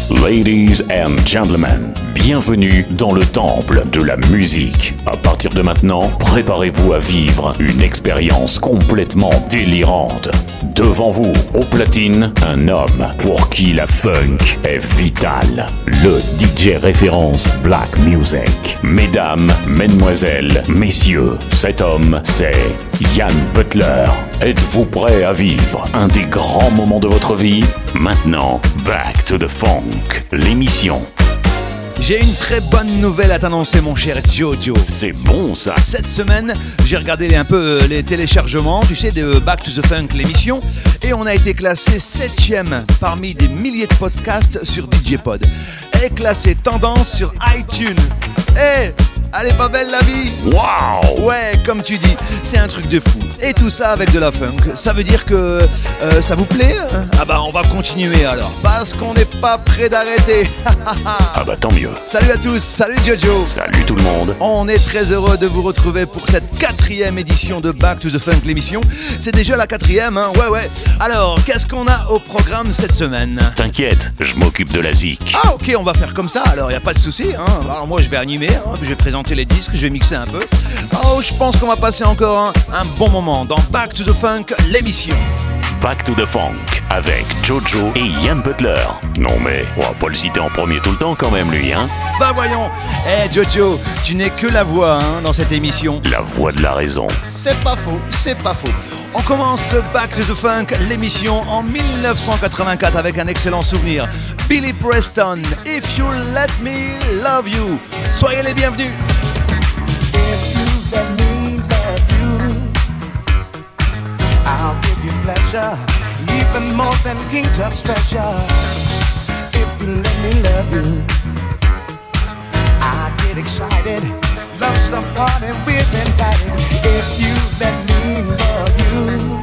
Ladies and gentlemen, bienvenue dans le temple de la musique. À partir de maintenant, préparez-vous à vivre une expérience complètement délirante. Devant vous, au platine, un homme pour qui la funk est vitale. Le DJ référence Black Music. Mesdames, mesdemoiselles, messieurs, cet homme, c'est Yann Butler. Êtes-vous prêts à vivre un des grands moments de votre vie? Maintenant, Back to the Funk, l'émission. J'ai une très bonne nouvelle à t'annoncer, mon cher Jojo. C'est bon ça. Cette semaine, j'ai regardé un peu les téléchargements, tu sais, de Back to the Funk, l'émission, et on a été classé 7e parmi des milliers de podcasts sur DJ Pod. Et classé tendance sur iTunes. Elle est pas belle la vie? Waouh! Ouais, comme tu dis, c'est un truc de fou. Et tout ça avec de la funk. Ça veut dire que ça vous plaît? Ah bah on va continuer alors, parce qu'on n'est pas prêt d'arrêter. Ah bah tant mieux. Salut à tous, salut Jojo. Salut tout le monde. On est très heureux de vous retrouver pour cette 4e édition de Back to the Funk, l'émission. C'est déjà la 4e, hein? Ouais. Alors, qu'est-ce qu'on a au programme cette semaine? T'inquiète, je m'occupe de la zik. Ah ok, on va faire comme ça, alors y a pas de souci, hein. Alors moi je vais animer, hein, je vais présenter les disques, je vais mixer un peu. Oh, je pense qu'on va passer encore un bon moment dans Back to the Funk, l'émission. Back to the Funk avec Jojo et Yann Butler. Non mais, on va pas le citer en premier tout le temps quand même lui, hein? Bah voyons. Jojo, tu n'es que la voix, hein, dans cette émission. La voix de la raison. C'est pas faux. On commence Back to the Funk, l'émission en 1984 avec un excellent souvenir. Billy Preston, If You Let Me Love You. Soyez les bienvenus. If you let me love you, I'll give you pleasure, even more than King Tut's treasure. If you let me love you, I get excited. Love's the party we've invited. If you let me love you,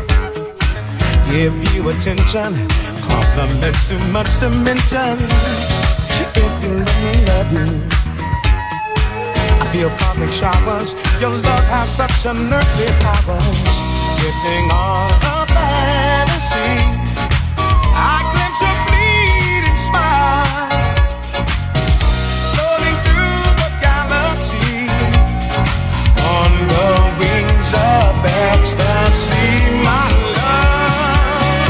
give you attention, compliments too much to mention. If you let me love you, I feel cosmic showers. Your love has such unearthly powers. Drifting on a fantasy, I glimpse your fleeting smile. Floating through the galaxy on the wings of ecstasy, my love.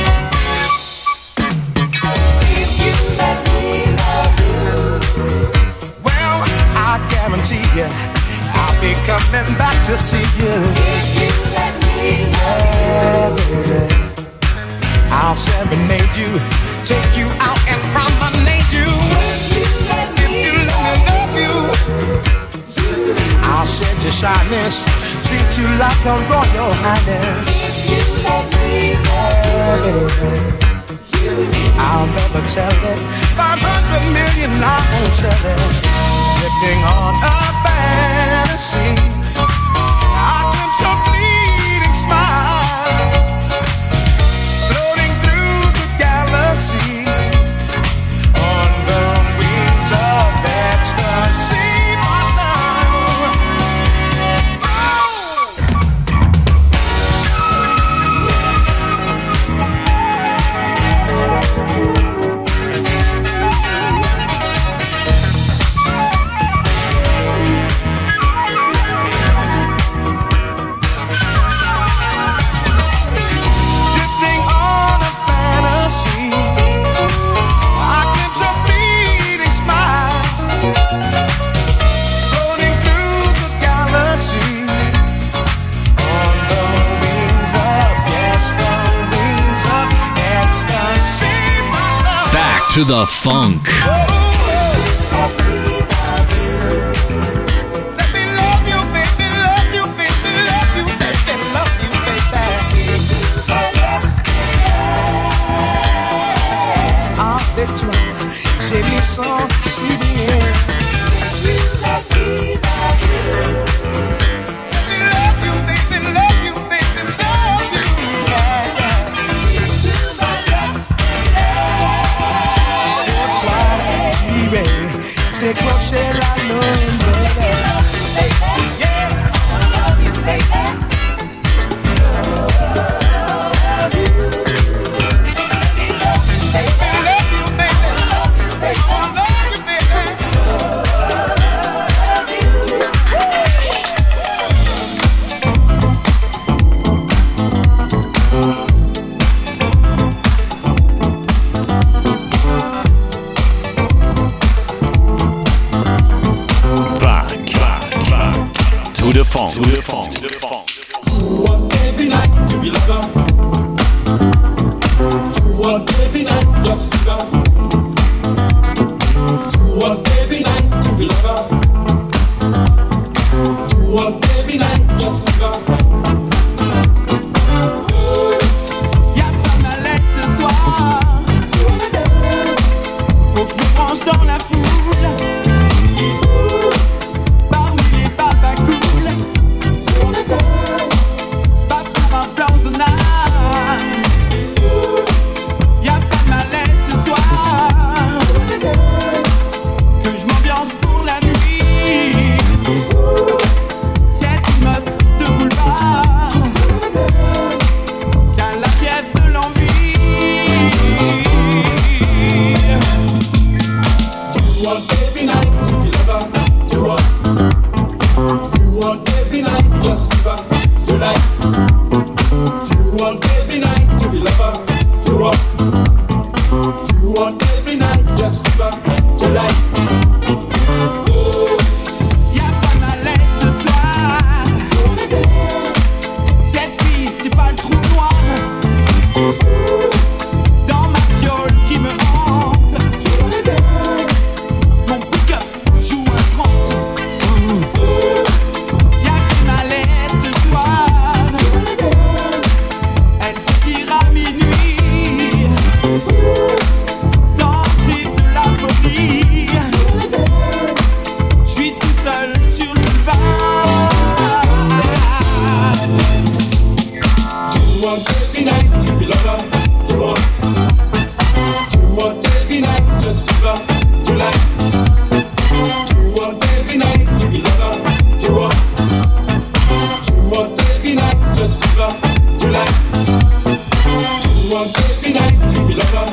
If you let me love you, well, I guarantee you I'll be coming back to see you. If you let me love you, baby, I'll serenade you, take you out and promenade you. If you let me love you, I'll shed your shyness, treat you like a royal highness. If you let me love you, I'll never tell it. 500 million I won't tell it. Drifting on a fantasy, I glimpse your fleeting smile. Floating through the galaxy on the wings of ecstasy, my love. Drifting on a fantasy, I glimpse your fleeting smile. Floating through the galaxy on the wings of, yes, the wings of ecstasy, my love. Back to the funk. Let me love you, baby, love you, baby, love you, baby, love you, baby. En victoire, j'ai mis son souvenir. Let me love you, baby, love you, baby, love you, yeah. That's why j'irai décrocher la lune, baby. Yeah. Love you, baby. Love you, baby. funk, to the funk, to the funk. You want every night to be lover. You want every night just fever. You want every night to be lover. You want every night just fever. Y'a pas mal ce soir. Faut que je me branche dans la foule. Parmi les babas cool. Pas pour un plan zonal. Y'a pas mal ce soir. Que je m'ambiance pour la nuit. C'est une meuf de boulevard qu'à la fièvre de l'envie. You want every night to be lover. You want every night just fever. You like. You want every night to be lover. You want every night just fever. You like. Y'a pas mal ce soir. Cette fille, c'est pas le trou noir dans ma fiole qui me hante. Mon pick-up joue un 30. Y'a que malaise ce soir. Elle se tire à minuit dans le trip de la folie. J'suis tout seul sur le boulevard. You want every night to be lover. You want every night just fever. You like. You want every night to be lover. You want every night just fever. You like. You want every night to be lover.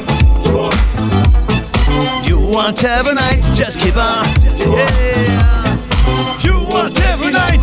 You want every night, just keep on. Yeah. You want every night.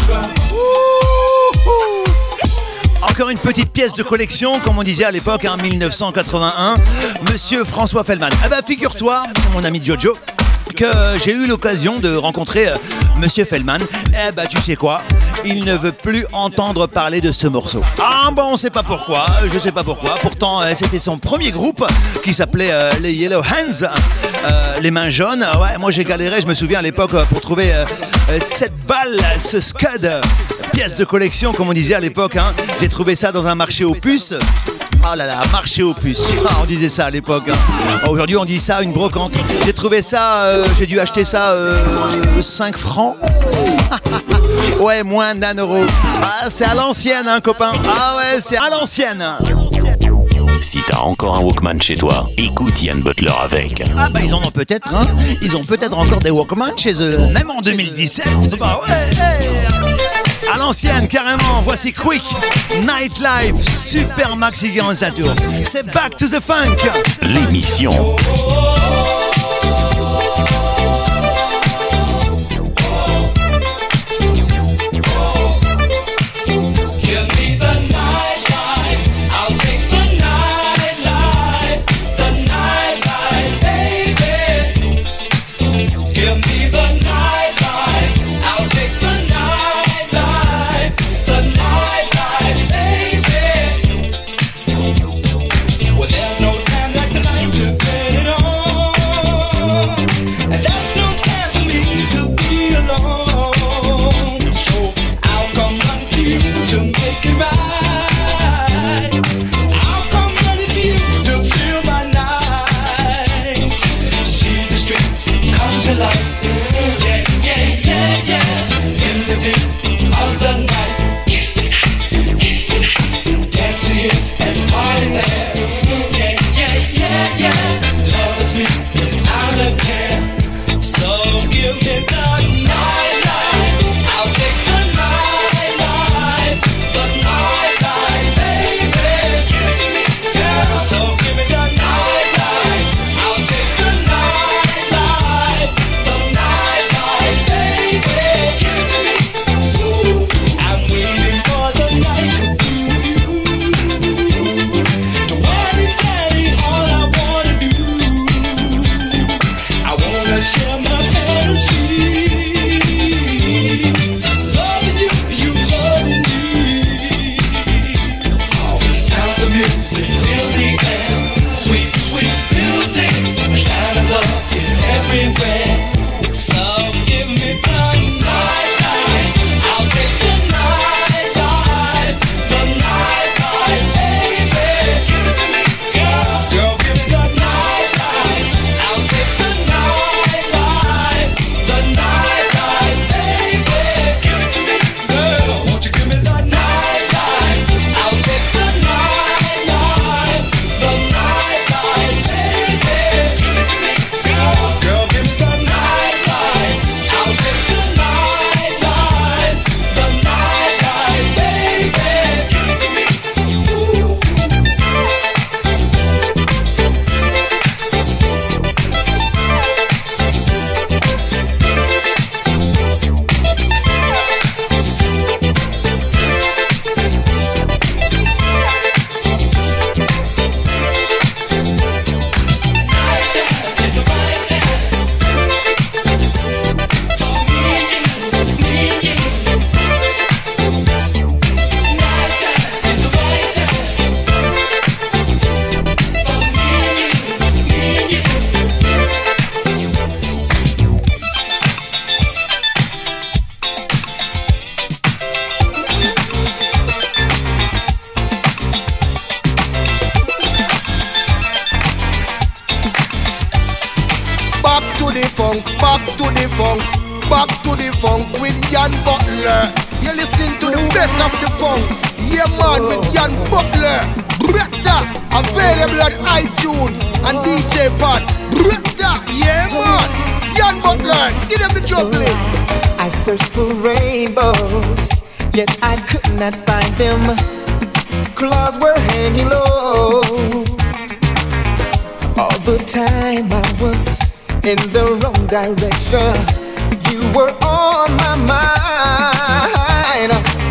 Ouh. Encore une petite pièce de collection, comme on disait à l'époque, en 1981. Monsieur François Feldman. Eh ben, figure-toi, mon ami Jojo, que j'ai eu l'occasion de rencontrer Monsieur Feldman. Eh ben, tu sais quoi? Il ne veut plus entendre parler de ce morceau. Ah bon, on sait pas pourquoi, je sais pas pourquoi. Pourtant, c'était son premier groupe qui s'appelait les Yellow Hands, les mains jaunes. Ouais, moi j'ai galéré, je me souviens à l'époque, pour trouver cette balle, ce scud, pièce de collection, comme on disait à l'époque. Hein. J'ai trouvé ça dans un marché aux puces. Oh là là, marché aux puces. Ah, on disait ça à l'époque. Hein. Aujourd'hui, on dit ça, une brocante. J'ai trouvé ça, j'ai dû acheter ça 5 francs. Ouais, moins d'1 euro. Ah, c'est à l'ancienne, hein, copain. Ah ouais, c'est à l'ancienne. Si t'as encore un Walkman chez toi, écoute Ian Butler avec. Ah bah ils en ont peut-être, hein. Ils ont peut-être encore des Walkman chez eux, même en 2017. Bah ouais, hey. À l'ancienne, carrément. Voici Quick, Nightlife, Super Maxi Tour. C'est Back to the Funk. L'émission. Well, there's no time like the night to get it Back to the funk, back to the funk, back to the funk with Ian Butler. You're listening to the best of the funk. Yeah man, with Ian Butler. Bretta, available on iTunes and DJ Pod. Bretta, yeah man. Ian Butler, give them the juggling. I searched for rainbows, yet I could not find them. Claws were hanging low. All the time I was in the wrong direction. You were on my mind.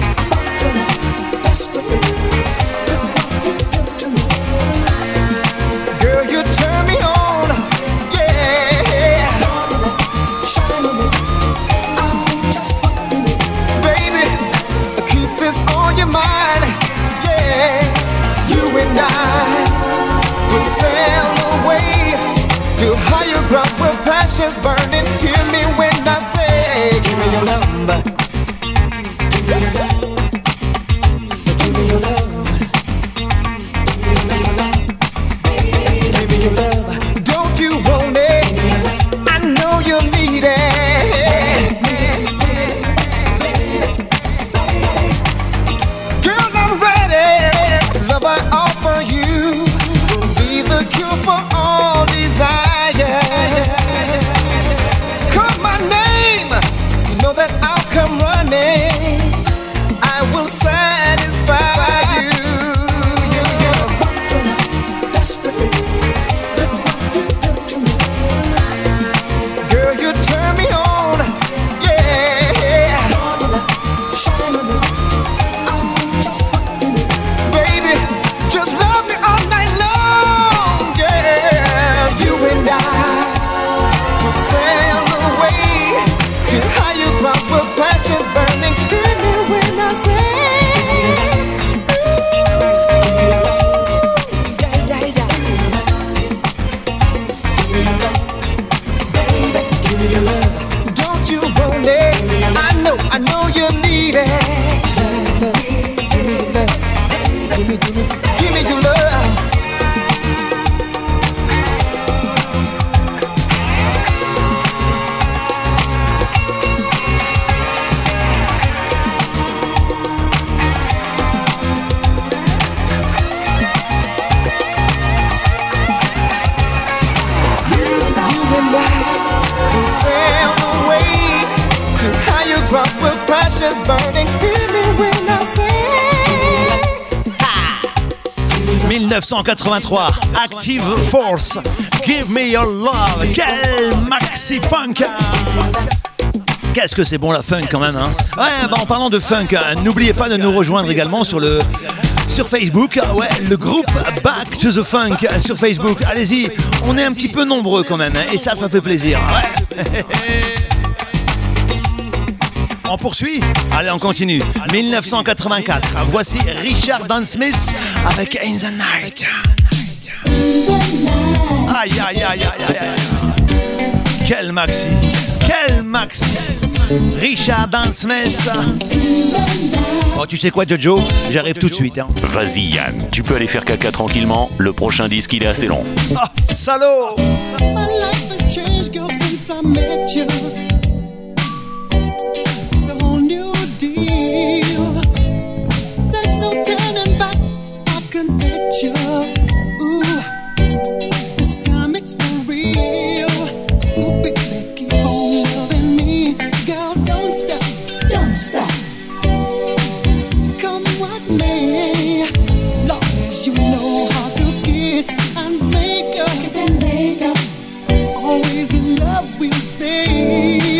Girl, you turn me on, yeah. Baby, keep this on your mind, yeah. You and I will sail away to higher grounds where passion's burning. Hear me when I say, give me your number. Give me your love. Give me your love. Give me your love. Don't you want it? I know you need it. Girl, I'm ready. Love I offer you will be the cure for all desire. Call my name, you know that I'll come running. I will satisfy you. Girl, you turn me on, yeah. Baby, just love me all night long, yeah. You and I will sail away to higher grounds where passion's burning. Hear me when I say, don't you want it? I know you need it. Give me your love. Give me your love. You and I will sail away to higher grounds where passion's burning. Hear me when I say, 1983, Active Force, Give Me Your Love. Quel maxi funk! Qu'est-ce que c'est bon la funk quand même, hein? Ouais, bah en parlant de funk, n'oubliez pas de nous rejoindre également sur Facebook, ouais, le groupe Back to the Funk sur Facebook. Allez-y, on est un petit peu nombreux quand même, hein, et ça fait plaisir. Ouais. On poursuit? Allez, on continue. 1984, voici Richard Dan Smith avec In the Night. Aïe, aïe, aïe, aïe, aïe, aïe. Quel maxi! Quel maxi! Richard Dan Smith. Oh, tu sais quoi, Jojo? J'arrive tout de suite. Hein. Vas-y Yann, tu peux aller faire caca tranquillement, le prochain disque il est assez long. Ah, salaud! My life has changed, girl, since I met you. It's a whole new deal. There's no turning back, I can bet you. Ooh, this time it's for real. Ooh, baby, keep on loving me. Girl, don't stop, don't stop. Come what may, long as you know how to kiss and make up. Kiss and make up. Always in love we'll stay.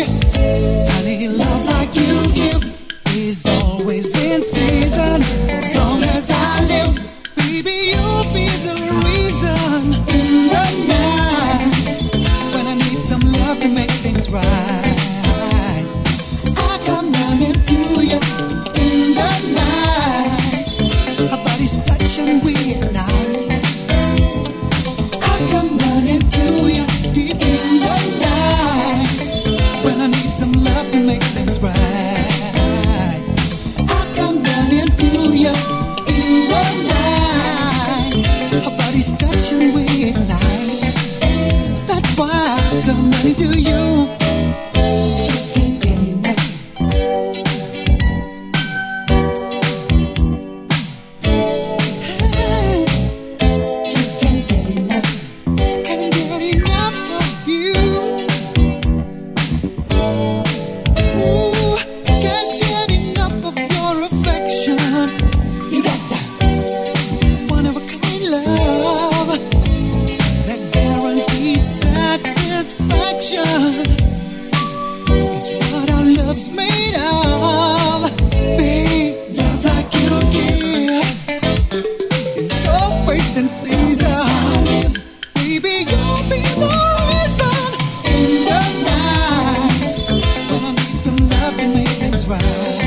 affection is what our love's made of. Babe, love like you give is always sincere. Baby, you'll be the reason in the night when I need some love to make things right.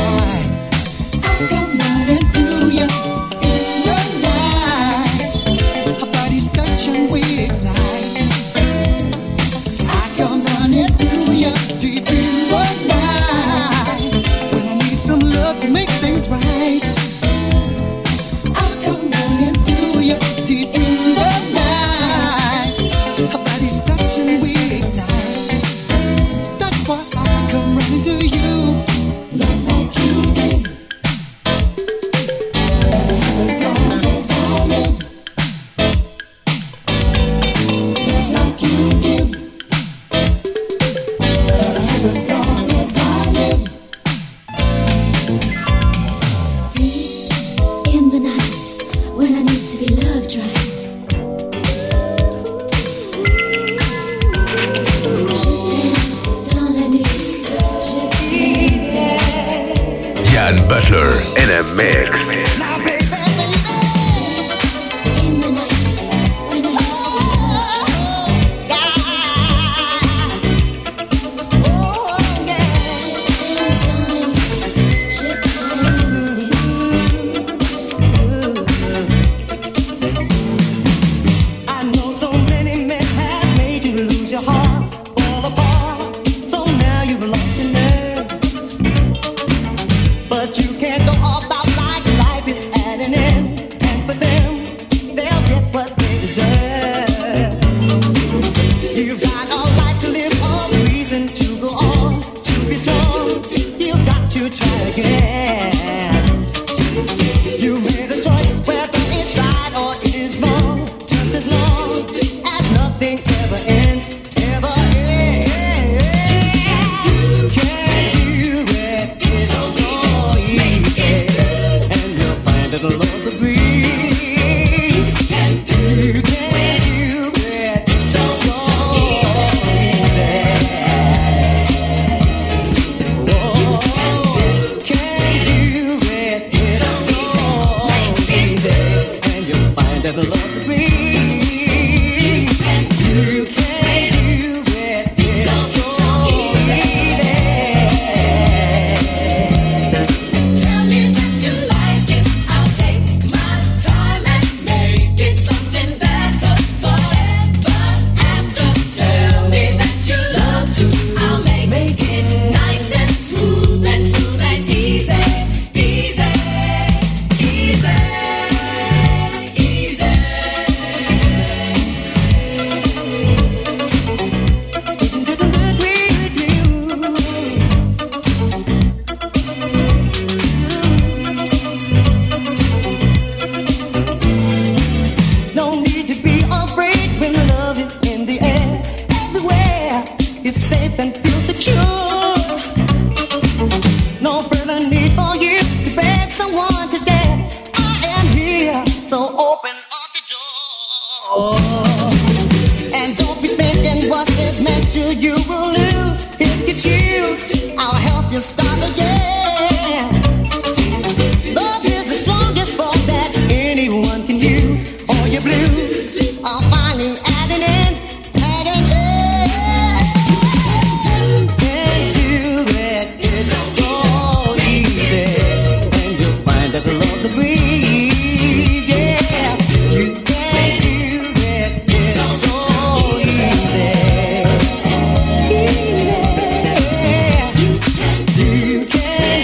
I come running to you in the night. Our bodies touch and we ignite. I come running to you deep in the night when I need some love to make things right. I come running to you deep in the night. Our bodies touch and we ignite. That's why I come running to you. Love like you give. As long as I live, love like you give. As long as I live. Deep in the night, when I need to be loved right. Je t'aime dans la nuit, je t'aime. Yann Butler in a mix. In the night, when I need to be loved I know so many men have made you lose your heart, fall apart. So now you've lost your nerve, but you can't go about like life is at an end. And for them, they'll get what they deserve. You've got a life to live, a reason to go on, to be strong. You've got to try again. You made a choice, whether it's right or it is wrong. Just as long as nothing ever ends, ever ends. Can't do it, it's so easy, and you'll find that the Lord's agree. You can't do it, it's so easy. Oh, can't do it, it's so easy, and you'll find that the Lord's agree. You can't do it, it's so easy. Tell me that you like it, I'll take my time and make it something better forever after. Tell me that you love to, I'll make it nice and smooth and easy, easy, easy, easy. No need to be afraid when love is in the air. Everywhere is safe and feel secure. No further need for you to beg someone to stay. I am here, so open up the door. And don't be thinking what is meant to you will lose. If you choose, I'll help you start again. Love is the strongest form that anyone can use. All your blues are finally at an end, at an end. Can't do it, it's so easy, and you'll find that the Lord's agree. Yeah, you can't do it, it's so easy. You can't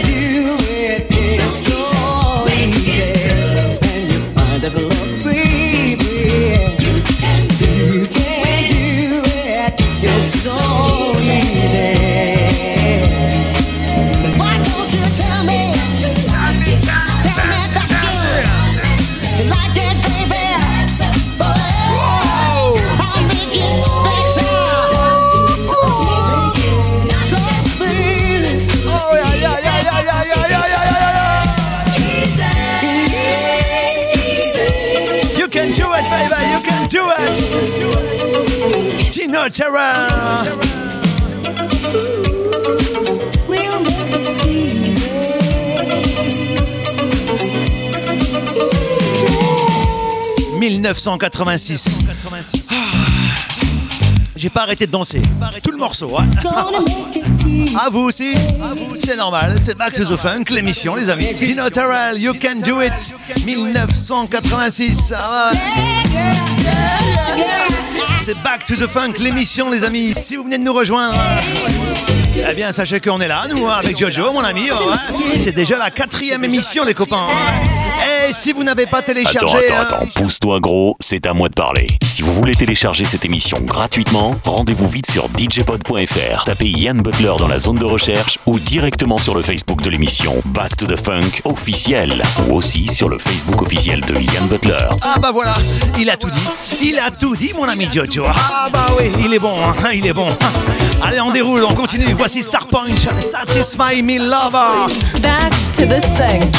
Tina Terrell. We'll make it easy. 1986. J'ai pas arrêté de danser. Tout le morceau. Hein. À vous aussi. C'est normal. C'est Back to the Funk, l'émission, les amis. Tina Terrell, You Can Do It. 1986. Ah ouais. C'est Back to the Funk, l'émission, les amis. Si vous venez de nous rejoindre, eh bien, sachez qu'on est là, nous, avec Jojo, mon ami. Ouais. C'est déjà la 4e émission, les copains. Et si vous n'avez pas téléchargé... Attends, pousse-toi gros, c'est à moi de parler. Si vous voulez télécharger cette émission gratuitement, rendez-vous vite sur djpod.fr. Tapez Yann Butler dans la zone de recherche ou directement sur le Facebook de l'émission Back to the Funk officiel ou aussi sur le Facebook officiel de Yann Butler. Ah bah voilà, il a tout dit. Il a tout dit, mon ami Jojo. Ah bah oui, il est bon, hein, il est bon. Allez, on déroule, on continue. Voici Starpoint, Satisfy Me Lover. Back to the Funk.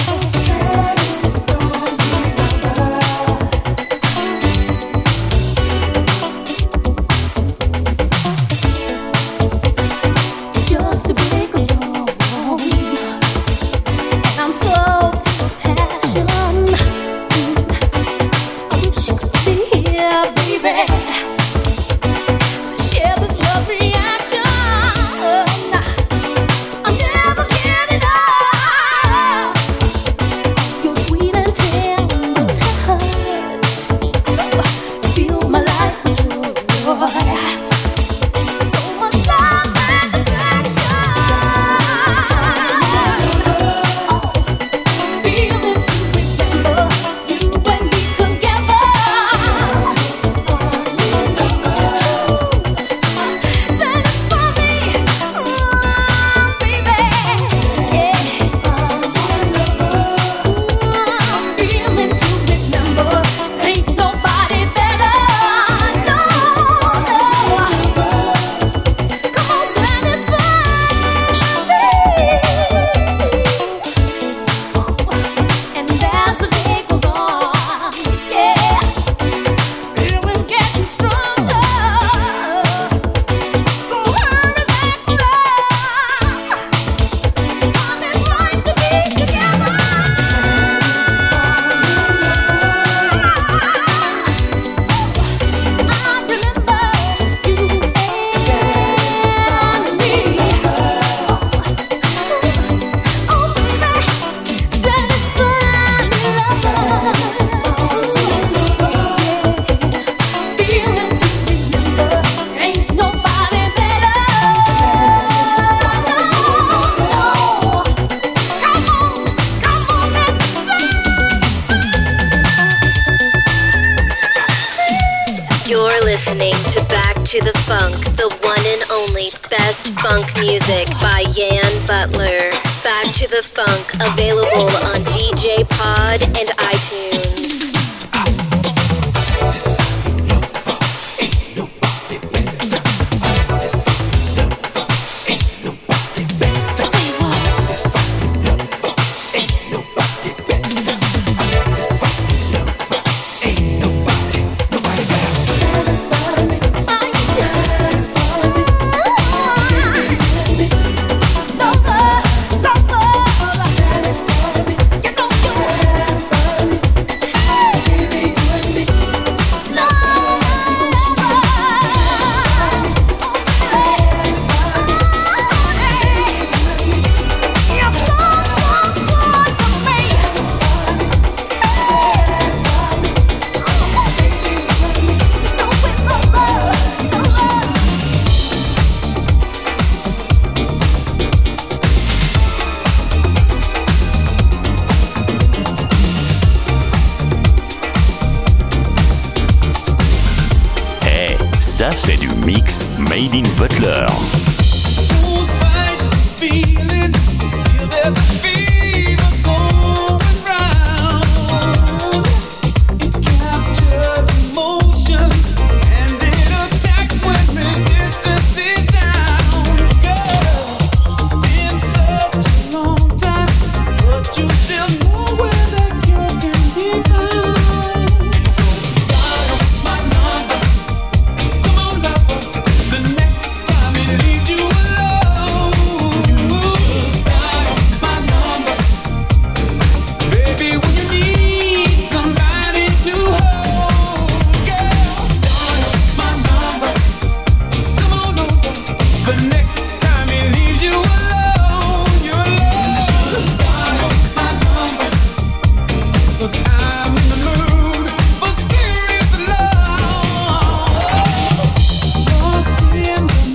to the Funk, the one and only best funk music by Yann Butler. Back to the Funk, available on DJ Pod and iTunes. Ça, c'est du mix Made in Butler. Come on, love.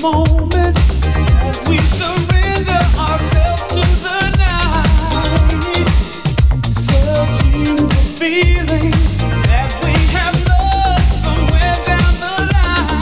moment as we surrender ourselves to the night, searching for feelings that we have lost somewhere down the line.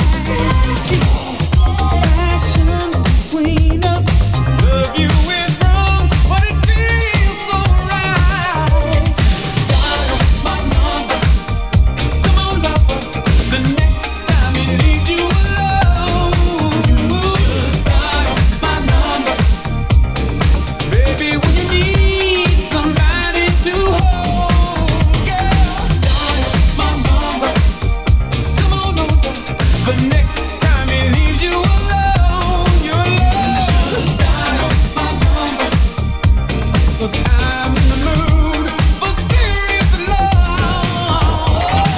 Passions between us, love you is wrong, but it feels so right. Dial my number, come on lover, the next time it leaves you alone. You should dial my number, baby, when you need somebody to hold. Girl, dial my number, come on over, the next time it leaves you alone. Your love should dial my number, 'cause I'm in the mood for serious love.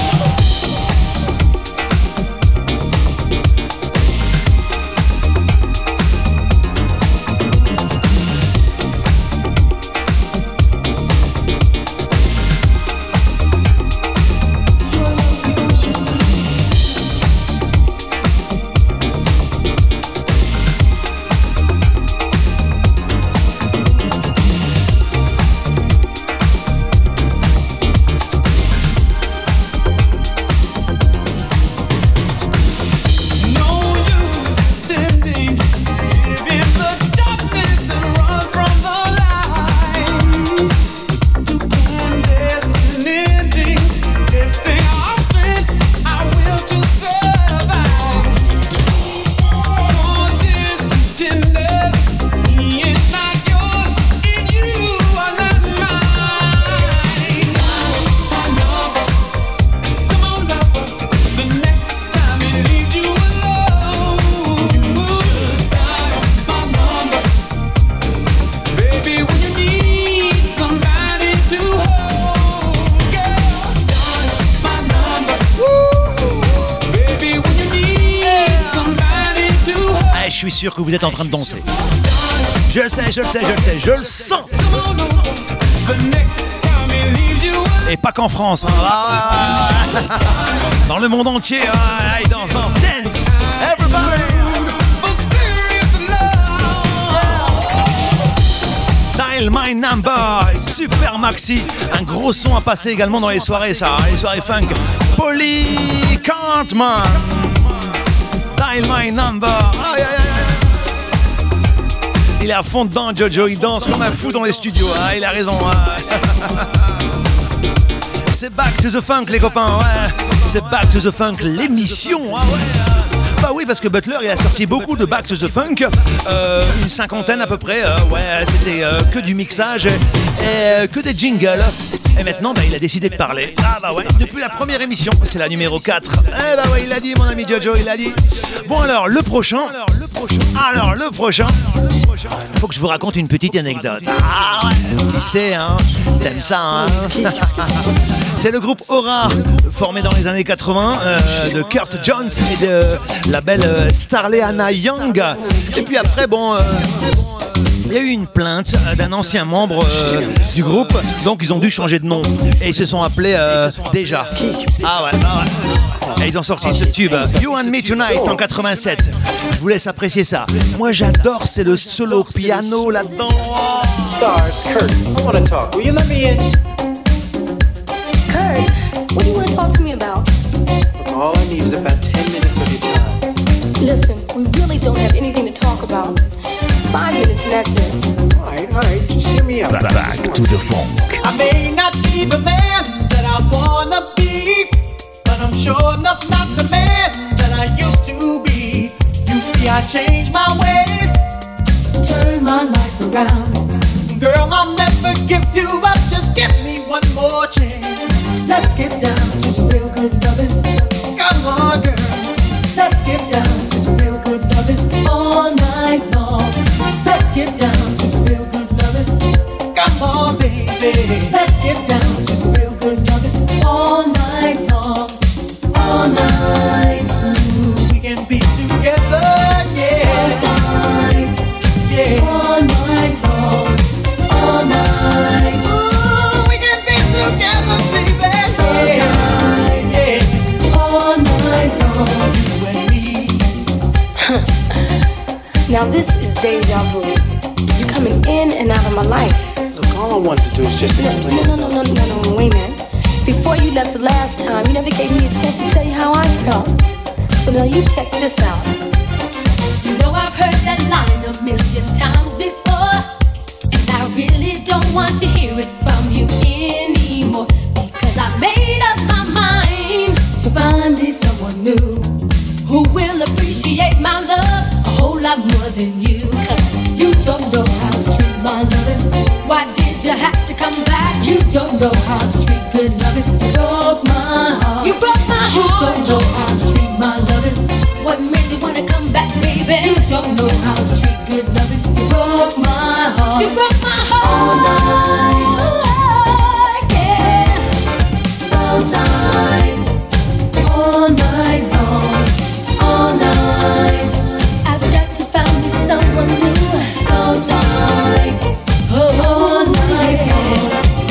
Your love's the ocean. No use pretending, live in the darkness and run from the light. To clandestine endings, testing our strength, our will to survive. Cautious pretenders, he is not yours, and you are not mine. My number, come on lover, the next time it leaves you alone. You should dial my number, baby, when you need somebody to hold. Girl, dial my number, baby, when you need somebody to hold. Ah, je suis sûr que vous êtes en train de danser. Je le sais, je le sais, je le sais, je le sens. Come on over, the next time it leaves you alone. Et pas qu'en France, hein. Dans le monde entier, hein. Allez, danse, danse, dance, everybody. For serious love. Dial My Number, super maxi, un gros son à passer également dans les soirées, ça, hein, les soirées funk. Polly Cartman, Dial My Number. Aïe, aïe, aïe. Il est à fond dedans, Jojo, il danse comme un fou dans les studios, hein, il a raison. Hein. C'est Back to the Funk, les copains, ouais. C'est Back to the Funk, l'émission, ah ouais. Bah oui, parce que Butler, il a sorti beaucoup de Back to the Funk, une cinquantaine à peu près, ouais, c'était que du mixage et que des jingles. Et maintenant, bah, il a décidé de parler. Ah bah ouais, depuis la première émission, c'est la numéro 4. Eh bah ouais, il l'a dit, mon ami Jojo, il l'a dit. Bon alors, le prochain, il faut que je vous raconte une petite anecdote. Ah ouais, tu sais, hein, t'aimes ça, hein. C'est le groupe Aura, formé dans les années 80, de Kurt Jones et de la belle Starleana Young. Et puis après, bon... il y a eu une plainte d'un ancien membre du groupe, donc ils ont dû changer de nom. Et ils se sont appelés Déjà. Ah ouais. Et ils ont sorti ce tube, You and Me Tonight, en 87. Je vous laisse apprécier ça. Moi j'adore, c'est le solo piano là-dedans. Star, it's Kurt. I want to talk. Will you let me in? Kurt, what do you want to talk to me about? All I need is about 10 minutes of your time. Listen, we really don't have anything to talk about. 5 minutes and that's it. All right, just hear me out. Back to the funk. I may not be the man that I wanna be, but I'm sure enough not the man that I used to be. You see, I changed my ways, turn my life around. Girl, I'll never give you up, just give me one more chance. Let's get down to some real good loving. Come on, girl. Let's get down to some real good loving all night long. Let's get down to some real good loving. Come on, baby. Let's get down to some real good loving all night long. All night. Ooh, we can be together, yeah. So tight. Yeah. All night long. All night. Ooh, we can be together, baby. So yeah. tight. Yeah. All night long. You and me. Now this is deja vu. You're coming in and out of my life. Look, all I wanted to do is just explain. No, wait a minute. Before you left the last time, you never gave me a chance to tell you how I felt. So now you check this out. You know I've heard that line a million times before, and I really don't want to hear it from you anymore, because I made up my mind to find me someone new who will appreciate my love a whole lot more than you. 'Cause you don't know how to treat my loving. Why did you have to come back? You don't know how to treat good loving. You broke my heart. You broke my heart. You don't know how to treat my loving. What made you wanna come back, baby? You don't know how to treat good loving. You broke my heart. You broke my heart. All night, yeah. So tight. All night long. All night. I've got to find me someone new. So tight. All night long.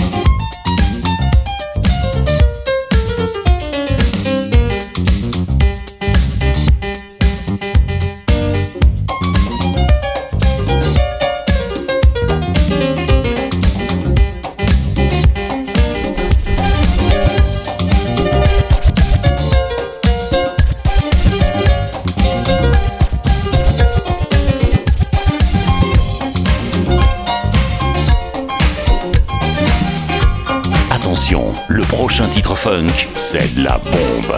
Attention, le prochain titre funk, c'est de la bombe.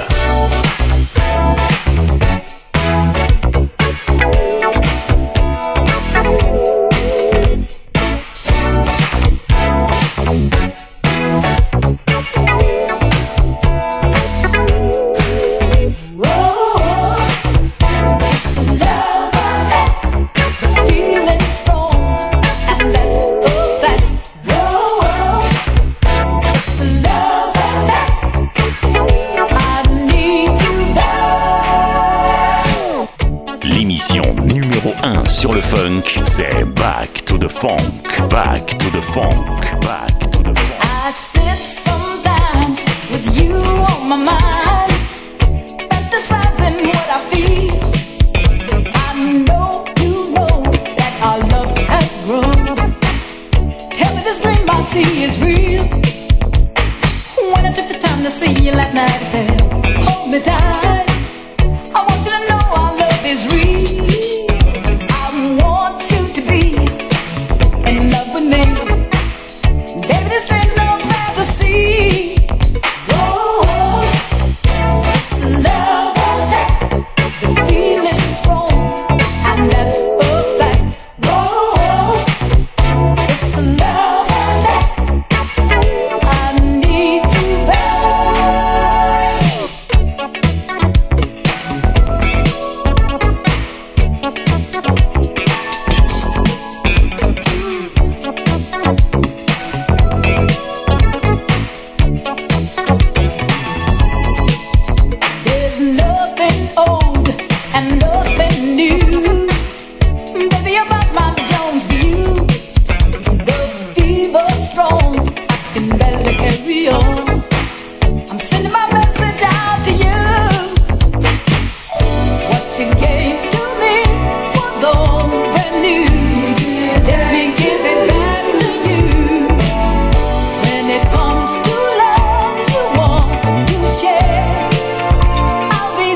Sur le funk, c'est Back to the Funk, Back to the Funk, Back to the Funk. I sit sometimes with you on my mind, fantasizing what I feel. I know you know that our love has grown. Tell me this dream I see is real. When I took the time to see you last night, I said, hold me tight. I want you to know our love is real. In love with me, baby, this ain't no fantasy. Oh, it's love attack. The feeling's strong, and that's a fact. Oh, it's love attack. I need you back. There's nothing old and nothing new. Baby, you're about my Jones to you. The fever's strong, I can barely carry on. I'm sending my message out to you. What you gave to me was all brand new. Let me give it back to you. When it comes to love, you want to share. I'll be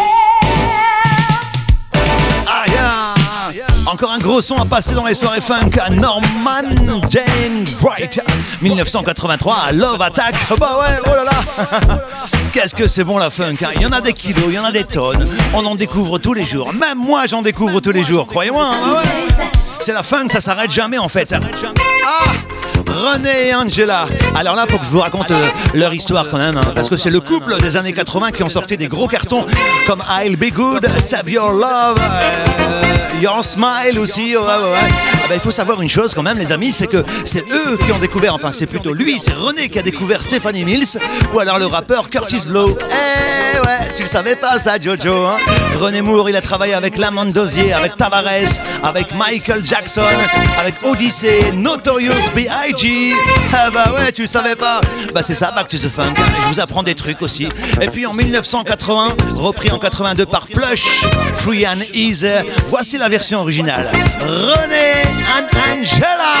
there. Encore un gros son à passer dans les soirées funk à Norman Jane Wright, 1983, Love Attack. Bah ouais, oh là là. Qu'est-ce que c'est bon la funk, hein. Il y en a des kilos, il y en a des tonnes. On en découvre tous les jours. Même moi, j'en découvre tous les jours, croyez-moi. Hein. Ah ouais. C'est la funk, ça s'arrête jamais en fait. Ah, René et Angela. Alors là, faut que je vous raconte leur histoire quand même, hein, parce que c'est le couple des années 80 qui ont sorti des gros cartons comme I'll Be Good, Save Your Love, Your Smile aussi. Ouais. Ah ben, il faut savoir une chose quand même, les amis, c'est que c'est eux qui ont découvert, enfin c'est plutôt lui, c'est René qui a découvert Stephanie Mills, ou alors le rappeur Curtis Blow. Eh ouais, tu le savais pas ça, Jojo, hein. René Moore, il a travaillé avec Lamont Dozier, avec Tavares, avec Michael Jackson, avec Odyssey, Notorious B.I.G. Ah bah ouais, tu le savais pas. Bah c'est ça, Back to the Funk. Je vous apprends des trucs aussi. Et puis en 1980, repris en 82 par Plush, Free and Easy. Voici la version originale. René and Angela.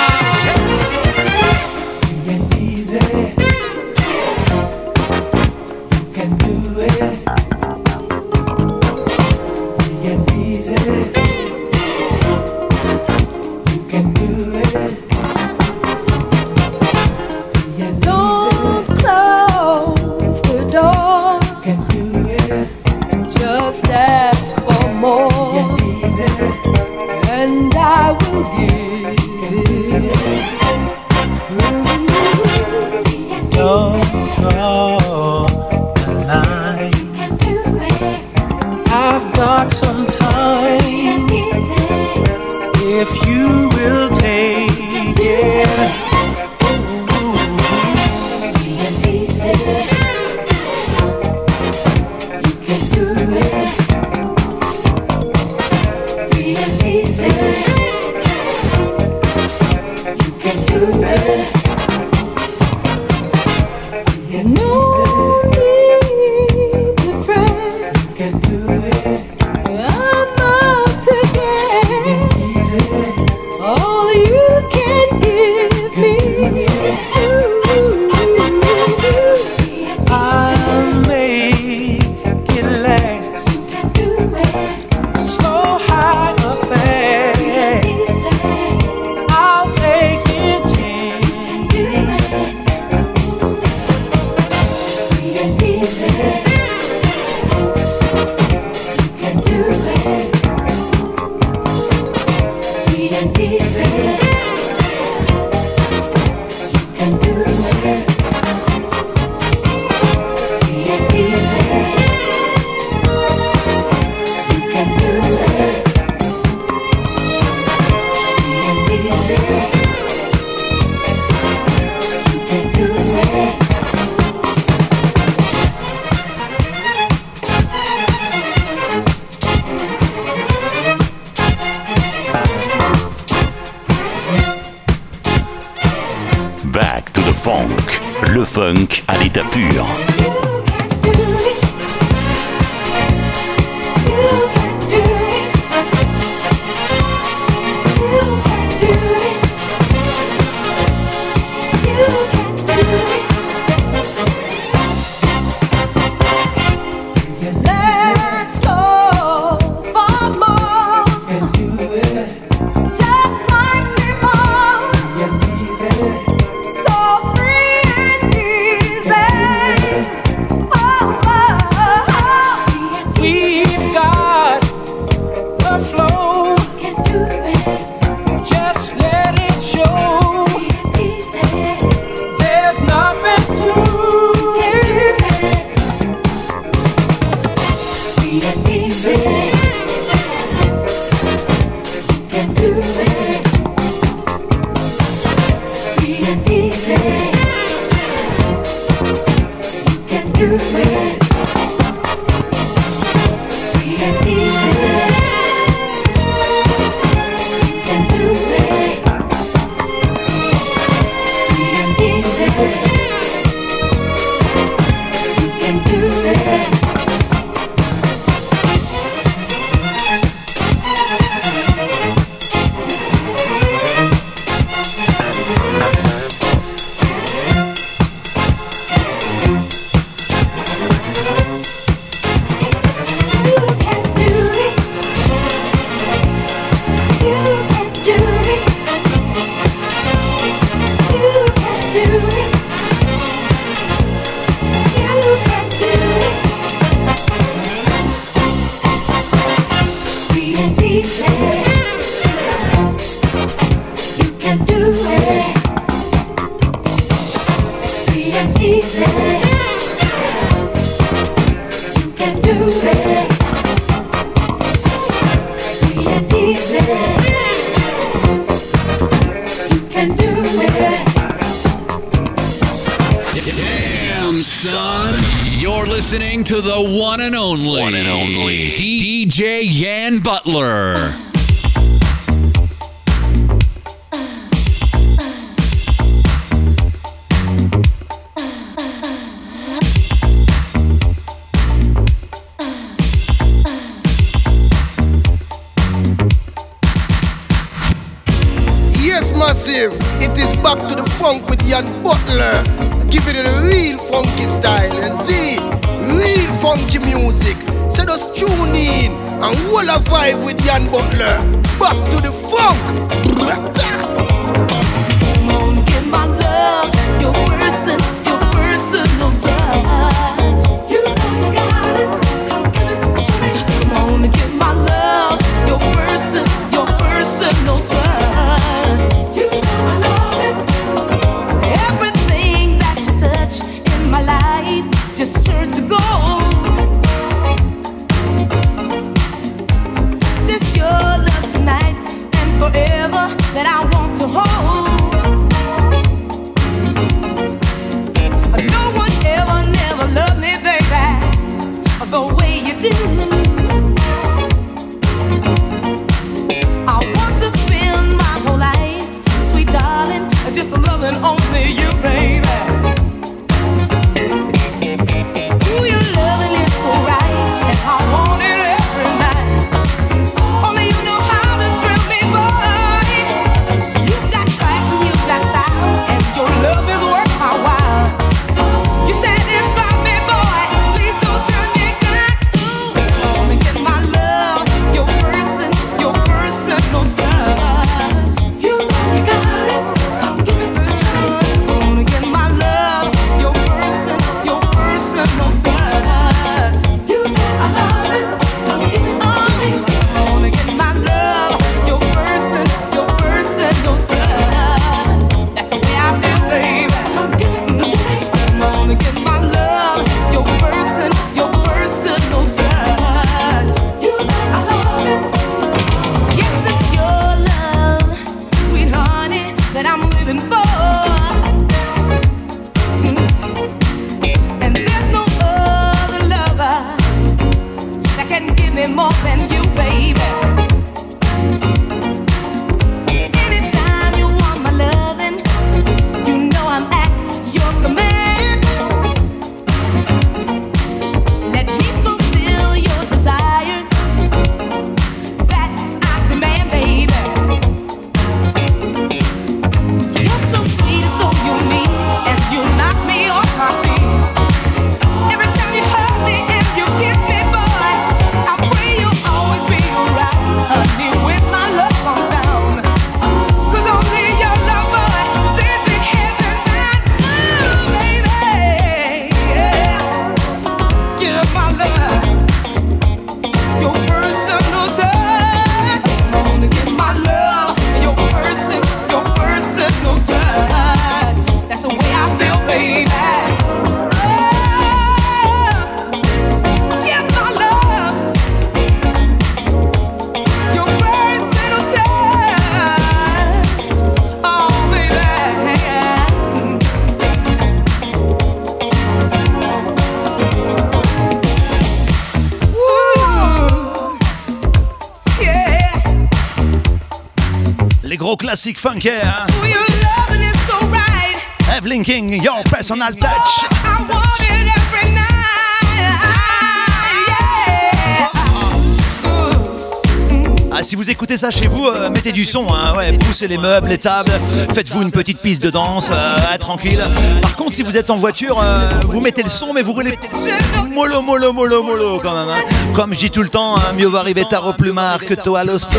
Don't close the door. Just ask for more, and I will give it. Don't draw the line. I've got some time. If you will take it. Back to the funk, le funk à l'état pur. Let's go for more. Just like before. So free and easy. Oh, oh, oh. We've got the flow. Just let it show. There's nothing to it. Free and easy. Can do it. Free and easy. Can do it. Free and easy. Can do it. Free and easy. Can do it. Damn, son. You're listening to the one and only, DJ Yan Butler. exclusive. It is back to the funk with Ian Butler. Giving it a real funky style. And see, real funky music. So just tune in and hold a vibe with Ian Butler. Back to the funk. Come on, get my love, your personal touch. You know you got it. Come give it to me. Come on and get my love, your personal touch. You know I love it. Everything that you touch in my life just turns to gold. This is your love tonight and forever that I want to hold. No one ever, never loved me, baby, the way you do. I want to spend my whole life, sweet darling, just loving only you, baby. Ooh, your loving is so right, and I want it every night. Only you know how to thrill me, boy. You got class and you got style, and your love is worth my while. You satisfy me, boy. Please don't turn me back. Ooh, come and get my love, your personal touch. You know you got it. Come give it to me. Come and get my love, your personal touch. You know I love it. Come give it to me. Come and get my love, your personal touch. That's the way I feel, baby. Come give it to me. Come on and get my love, your personal touch. You know I love it. Yes, it's your love, sweet honey, that I'm living for. And there's no other lover that can give me more than you, baby. Anytime you want my loving, you know I'm at your command. Let me fulfill your desires that I demand, baby. You're so sweet and so unique, and you knock me off my feet. Every time you hug me and you kiss me, boy, I pray you'll always be around, honey, when my love comes down. 'Cause only your love, boy, sends me heaven bound. Ooh, baby, yeah. Give my love, your personal touch. Come on and give my love, your personal touch. That's the way I feel, baby. Oh, give my love, your personal touch. Oh, baby. Ooh, yeah. Les gros classiques funky, hein? Ooh, your loving is so right. Evelyn King, Your Personal Touch. I want it every night. Ah, si vous écoutez ça chez vous, mettez du son, hein, ouais, poussez les meubles, les tables, faites-vous une petite piste de danse, tranquille. Par contre, si vous êtes en voiture, vous mettez le son, mais vous roulez mollo quand même. Hein. Comme je dis tout le temps, hein, mieux vaut arriver tard au plumard que tôt à l'hosto.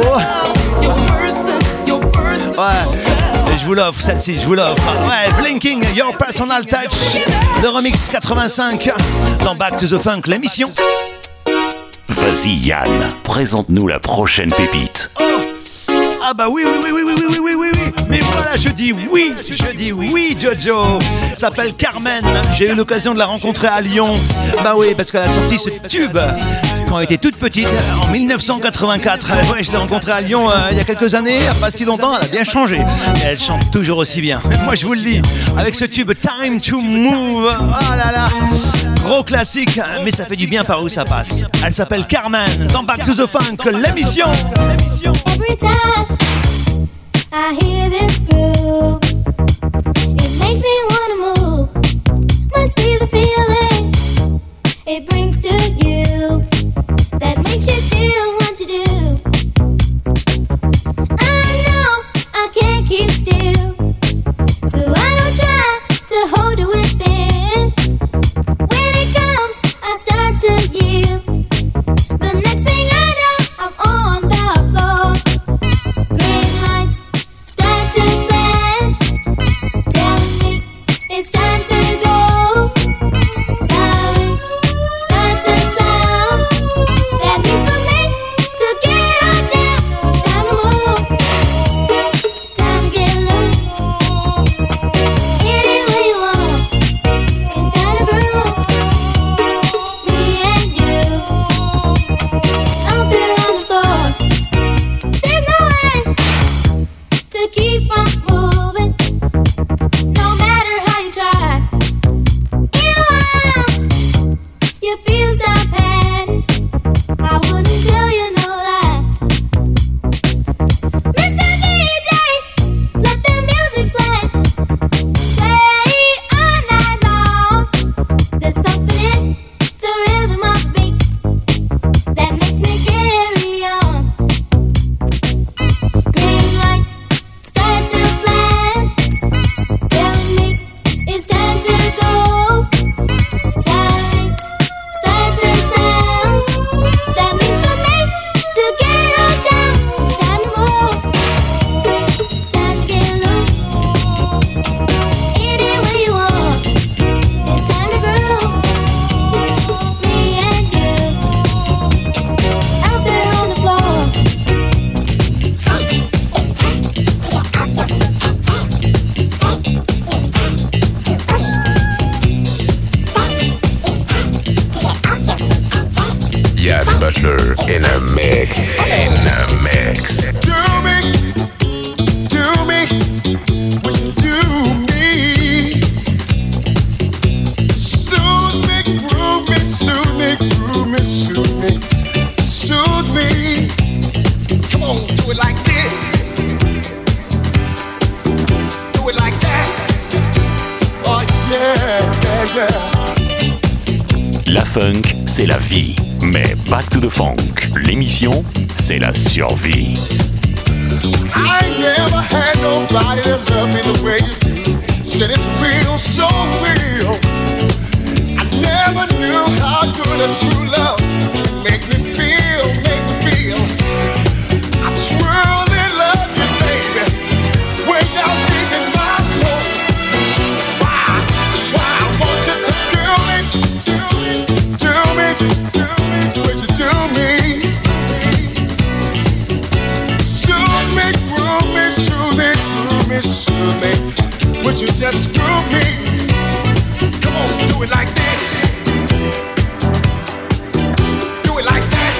Ouais, et je vous l'offre celle-ci, je vous l'offre. Ouais, Blinking, Your Personal Touch, le remix 85 dans Back to the Funk, l'émission. Vas-y Yann, présente-nous la prochaine pépite. Oh. Ah bah oui, mais voilà, je dis oui, Jojo. Elle s'appelle Carmen, j'ai eu l'occasion de la rencontrer à Lyon. Bah oui, parce qu'elle a sorti ce tube quand elle était toute petite, en 1984. Ouais, je l'ai rencontrée à Lyon il y a quelques années, pas si longtemps, elle a bien changé. Et elle chante toujours aussi bien. Moi je vous le dis, avec ce tube Time to Move, oh là là, gros classique, mais ça fait du bien par où ça passe. Elle s'appelle Carmen, dans Back to the Funk, l'émission. Every time I hear this groove, it makes me wanna move. Must be the feeling it brings to you that makes you do what you do. I know I can't keep still. funk, c'est la vie. Mais Back to the Funk, l'émission, c'est la survie. I never had nobody that loved me the way you do. Said it's real, so real. I never knew how good a true love can make me feel, make me feel. I truly love you, baby, way down deep in my soul. That's why I want you to do me, would you do me? Soothe me, would you just screw me? Come on, do it like this. Do it like that.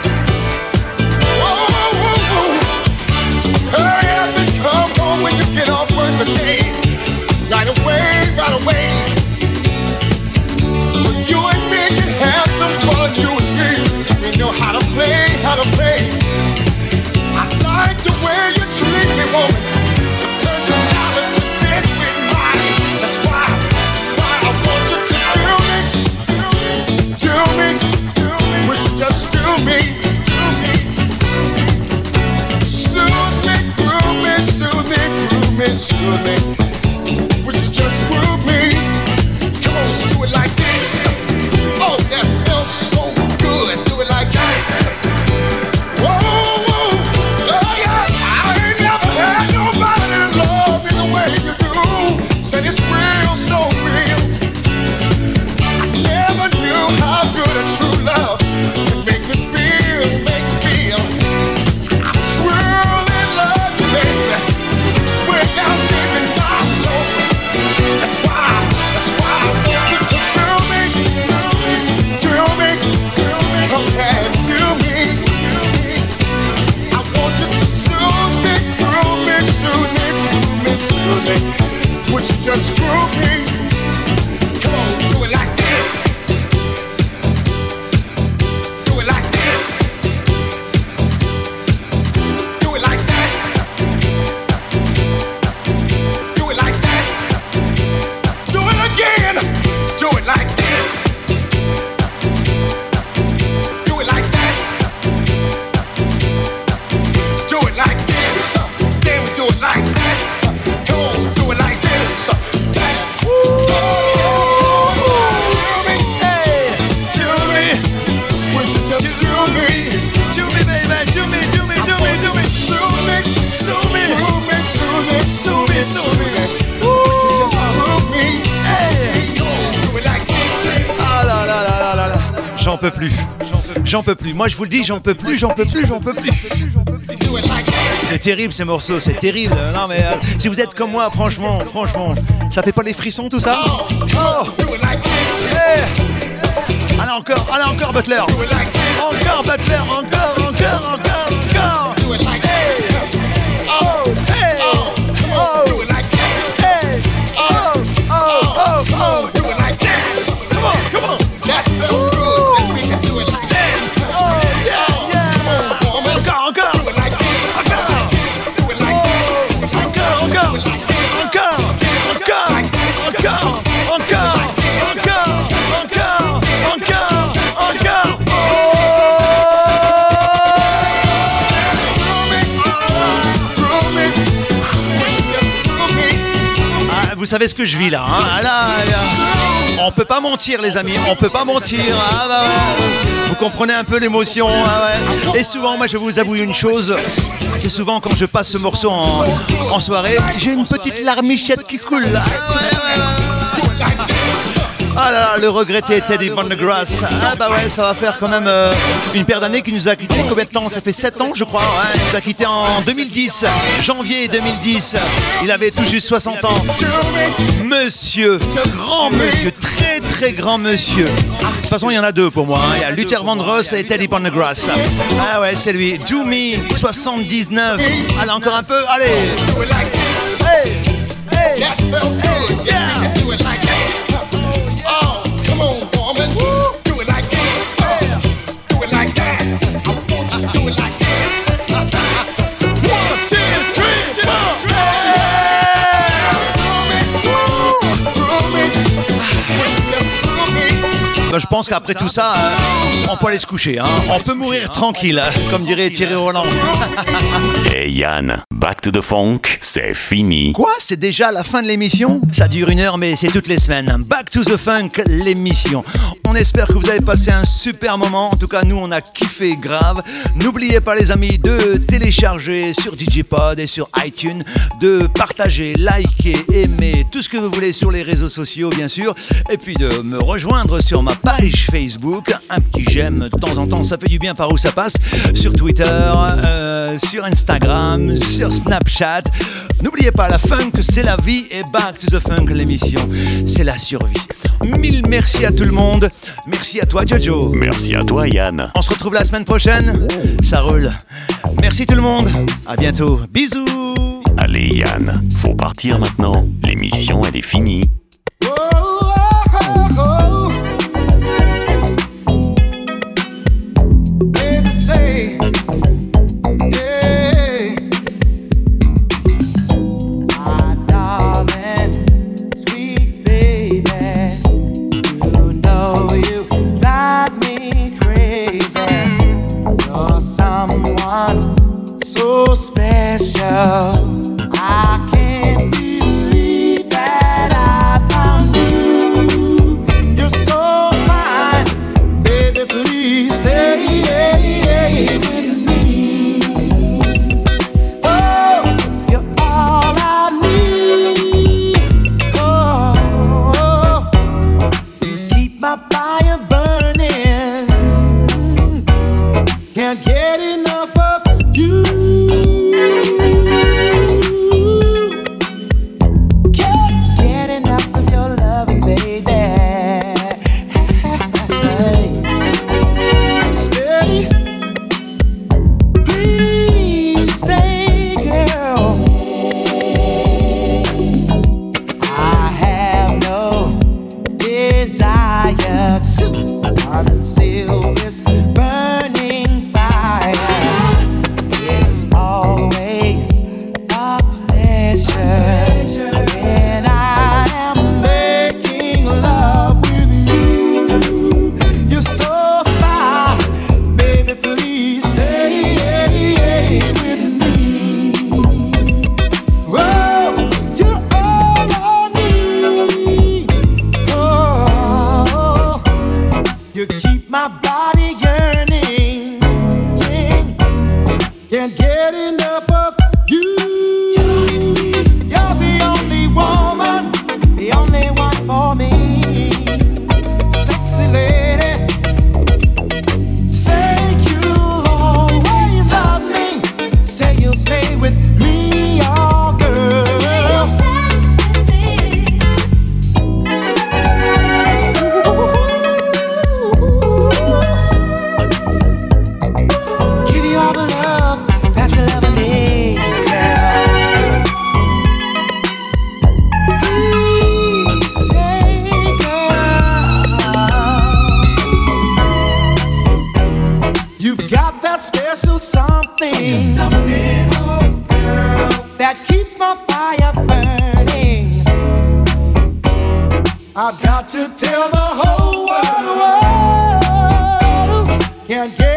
Whoa, whoa, whoa. Hurry up and come home when you get off work today. Right away. So you and me can have some fun, you and me. We know how to play. I like the way you treat me, woman. Soothe me, would you just groove me? Come on, do it like this. Oh, that feels so good. Do it like that. Whoa, whoa, oh yeah. I ain't never had nobody to love me the way you do. Said it's real, so real. I never knew how good a true love could make me feel, I truly love you, baby. We're down deep in my soul. That's why I want you to do me, okay, do me. I want you to soothe me, soothe me. Would you just groove me? Come on, do it like this. Do it like this. Do it like that. Do it like that. Do it again. Do it like this. Do it like that. Do it like this. Then we do it like that. Come on, do it like this. Woo! Do me, hey, do me. Would you just do me? Do me, baby, do me. Sue me. Would you just groove me? Hey, come on, do it like this. Ah là là là là là là. J'en peux plus. Moi je vous le dis, j'en peux plus. Do it like that. C'est terrible ces morceaux, c'est terrible. Non mais si vous êtes comme moi, franchement, ça fait pas les frissons tout ça? Oh. Do it like this. Hey. Allez encore Butler. Encore Butler, encore. Do it like that. Oh, hey. Oh. Do it like that. Hey. Oh. Do it like that. Come on. That felt good. Then we can do it like that. Oh yeah. Come on, woman. Encore. Do it like that. Do it like that. Encore. Vous savez ce que je vis là, hein? Là, on peut pas mentir les amis, on peut pas mentir. Ah bah ouais. Vous comprenez un peu l'émotion, ah ouais. Et souvent, moi je vous avoue une chose, c'est souvent quand je passe ce morceau en soirée, j'ai une petite larmichette qui coule là. Ah là là, le regretté Teddy Pendergrass. Ah bah ouais, ça va faire quand même une paire d'années qu'il nous a quittés. Combien de temps? Ça fait 7 ans je crois. Ouais, il nous a quittés en 2010, janvier 2010. Il avait tout juste 60 ans. Monsieur, grand monsieur, très très grand monsieur. De toute façon, il y en a deux pour moi. Hein. Il y a Luther Vandross et Teddy Pendergrass. Ah ouais, c'est lui. Do Me, 79. Allez, encore un peu, allez. Hey, hey, That felt good. hey, yeah. Do it like that. Oh, come on, woman. Do it like that. Do it like that. I want you to do it like this. 1, 2, 3, 4. pense qu'après tout ça, on peut aller se coucher. Hein. On peut mourir tranquille, comme dirait Thierry Roland. Et Yann, Back to the Funk, c'est fini. Quoi? C'est déjà la fin de l'émission? Ça dure 1 heure, mais c'est toutes les semaines. Back to the Funk, l'émission. On espère que vous avez passé un super moment. En tout cas, nous, on a kiffé grave. N'oubliez pas, les amis, de télécharger sur DJ Pod et sur iTunes, de partager, liker, aimer, tout ce que vous voulez sur les réseaux sociaux, bien sûr. Et puis de me rejoindre sur ma page Facebook. Un petit j'aime de temps en temps, ça fait du bien par où ça passe. Sur Twitter, sur Instagram, sur Snapchat. N'oubliez pas, la funk, c'est la vie, et Back to the Funk, l'émission, c'est la survie. 1000 merci à tout le monde. Merci à toi, Jojo. Merci à toi, Yann. On se retrouve la semaine prochaine. Ça roule. Merci tout le monde. À bientôt. Bisous. Allez, Yann, faut partir maintenant. L'émission, elle est finie. So special, I can't believe that I found you. You're so fine, baby, please stay with me. Oh, you're all I need. Oh, you keep my fire burning. Can't get enough of you. Can't get enough of your loving, baby. Stay, please stay, girl. I have no desire to conceal this burning fire. It's always a pleasure when I am making love with you. You're so fine, baby, please stay with me. Oh, you're all I need. Oh, you keep my body yearning. Can't get enough of you. You're the only woman, the only one for me. Sexy lady, say you'll always love me. Say you'll stay with me, oh girl. Say you'll stay with me. Give you all the love that you ever need, girl. Please stay, girl. You've got that special something, oh girl, that keeps my fire burning. I've got to tell the whole world, can't get